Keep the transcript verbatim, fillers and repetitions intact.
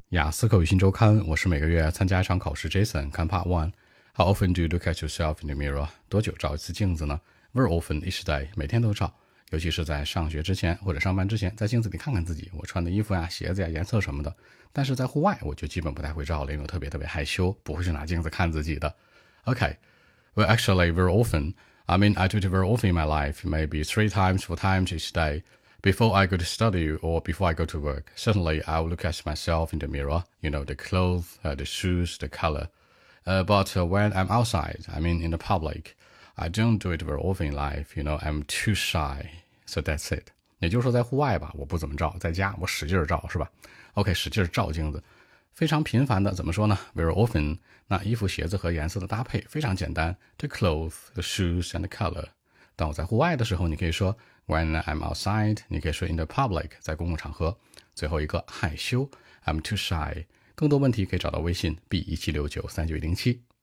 雅思口语新周刊，我是每个月参加一场考试 Jason。看 Part One。How often do you look at yourself in the mirror？ 多久照一次镜子呢？ Very often, each day， 每天都照，尤其是在上学之前或者上班之前，在镜子里看看自己，我穿的衣服呀、鞋子呀、颜色什么的。但是在户外，我就基本不太会照了，因为我特别特别害羞，不会去拿镜子看自己的。Okay, well, actually, very often. I mean, I do it very often in my life, maybe three times, four times each day.Before I go to study or before I go to work, certainly I will look at myself in the mirror, you know, the clothes, uh, the shoes, the color. Uh, but uh, when I'm outside, I mean in the public, I don't do it very often in life, you know, I'm too shy. So that's it. 也就是说在户外吧，我不怎么照，在家我使劲照，是吧 ？OK， 使劲照镜子。非常频繁的怎么说呢 ？Very often， 那衣服、鞋子和颜色的搭配非常简单 ，the clothes, the shoes and the color。当我在户外的时候，你可以说 When I'm outside， 你可以说 in the public， 在公共场合。最后一个害羞 I'm too shy。更多问题可以找到微信 B 一七六九三九一零七。